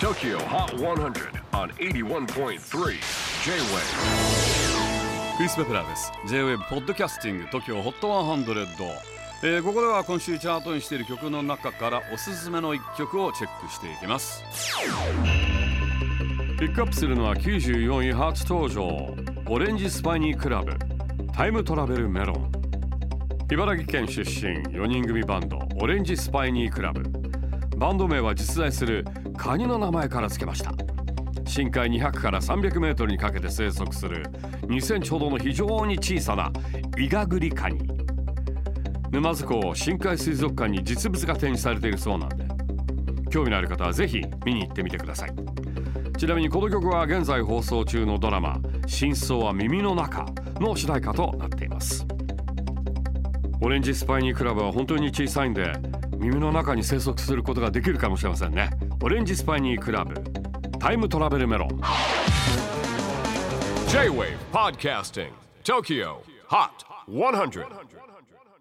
TOKYO HOT 100 on 81.3 J-WAVE クリス・ベプラーです。 J-WAVE ポッドキャスティング TOKYO HOT 100、ここでは今週チャートにしている曲の中からおすすめの1曲をチェックしていきます。ピックアップするのは94位初登場、オレンジスパイニークラブタイムトラベルメロン。茨城県出身4人組バンドオレンジスパイニークラブ。バンド名は実在するカニの名前から付けました。深海200から300メートルにかけて生息する2センチほどの非常に小さなイガグリカニ。沼津港深海水族館に実物が展示されているそうなんで、興味のある方はぜひ見に行ってみてください。ちなみにこの曲は現在放送中のドラマ真相は耳の中の主題歌となっています。オレンジスパイニークラブは本当に小さいんで耳の中に生息することができるかもしれませんね。オレンジスパイニークラブタイムトラベルメロン。 J-WAVE PODCASTING TOKYO HOT 100